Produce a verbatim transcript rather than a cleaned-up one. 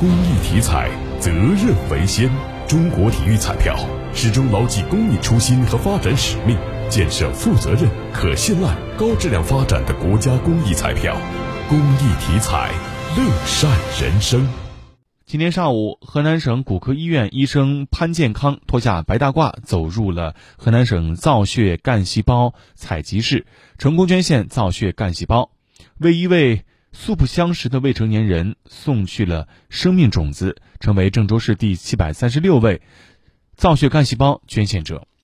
公益体彩，责任为先。中国体育彩票始终牢记公益初心和发展使命，建设负责任、可信赖、高质量发展的国家公益彩票。公益体彩，乐善人生。 今天上午，河南省骨科医院医生潘建康脱下白大褂，走入了河南省造血干细胞采集室，成功捐献造血干细胞，为一位素不相识的未成年人送去了生命种子，成为郑州市第七百三十六位造血干细胞捐献者。